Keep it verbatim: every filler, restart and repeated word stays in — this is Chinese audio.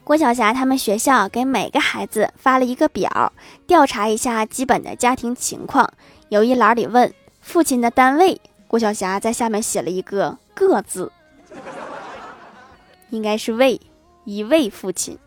郭晓霞他们学校给每个孩子发了一个表，调查一下基本的家庭情况。有一栏里问父亲的单位，郭晓霞在下面写了一个个字，应该是位，一位父亲。